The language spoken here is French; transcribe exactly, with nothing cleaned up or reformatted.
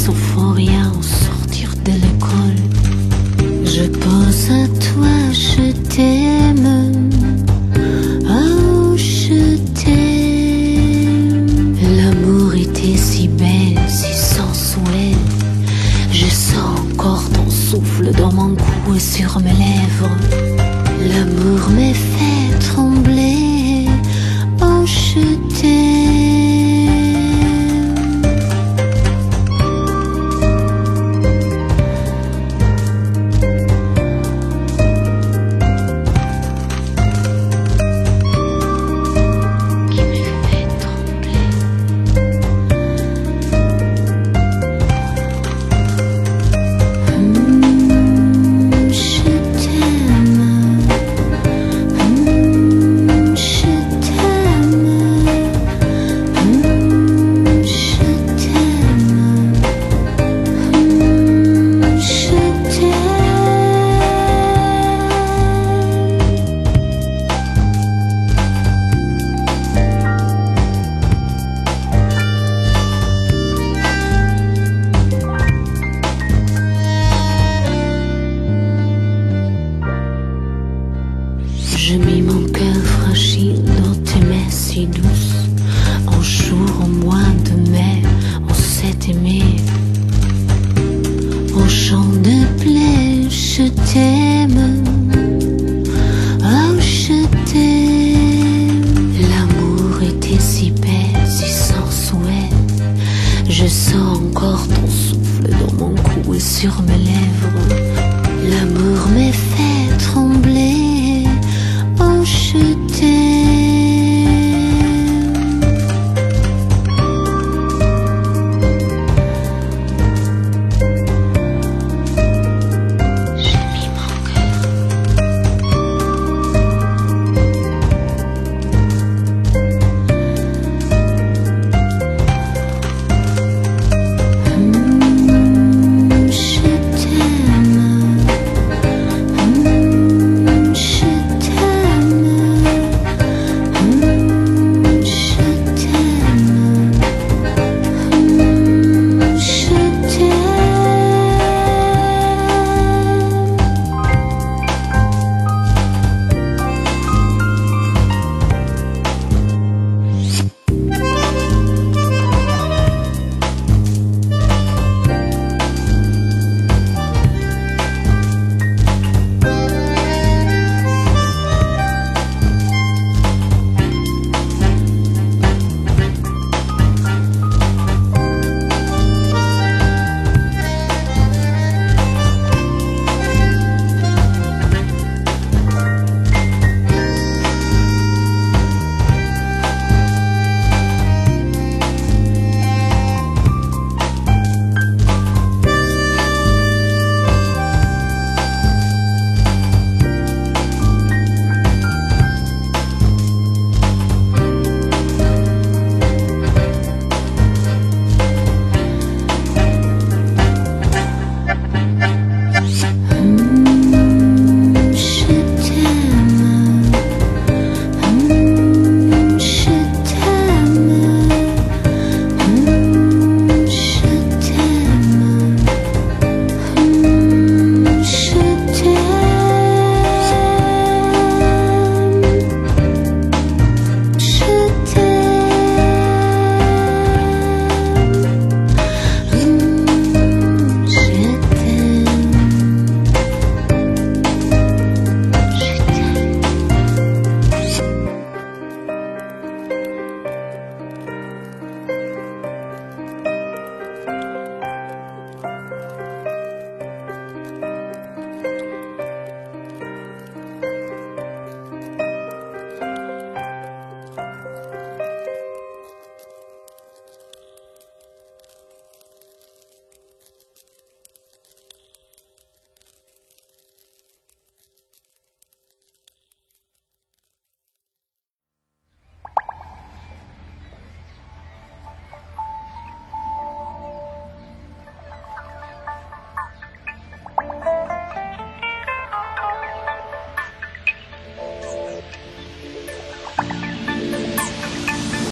euphoria au sortir de l'école. Je pense à toi, je t'aime. Oh, je t'aime. L'amour était si belle, si sensuel. Je sens encore ton souffle dans mon cou et sur mes lèvres. L'amour me fait trembler. Oh, je t'aime. Je mis mon cœur fragile dans tes mains si douces. Un jour au mois de mai, on s'est aimé. Au champ de blé, je t'aime.